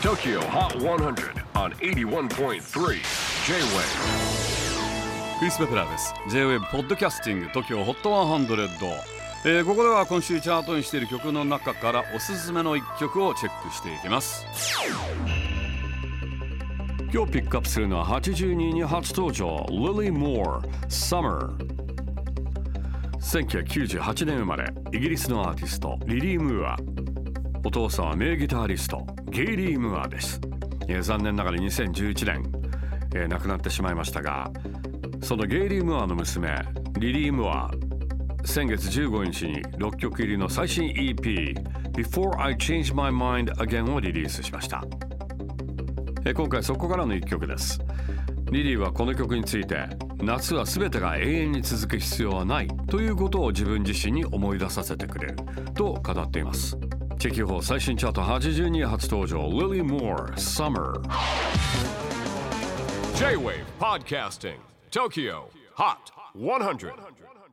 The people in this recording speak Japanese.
TOKYO HOT 100 on 81.3 J-WAVE クリス・ベプラーです。 J-WAVE ポッドキャスティング TOKYO HOT 100、ここでは今週チャートにしている曲の中からおすすめの一曲をチェックしていきます。今日ピックアップするのは82位に初登場 Lily Moore Summer。 1998年生まれイギリスのアーティストリリー・ムーア。お父さんは名ギタリストゲイリー・ムーアです。残念ながら2011年、亡くなってしまいましたが、そのゲイリー・ムーアの娘リリー・ムーア、先月15日に6曲入りの最新 EP Before I Change My Mind Again をリリースしました。今回そこからの1曲です。リリーはこの曲について、夏は全てが永遠に続く必要はないということを自分自身に思い出させてくれると語っています。チェキホー最新チャート82位初登場 Lily Moore Summer。 J-WAVE PODCASTING TOKYO HOT 100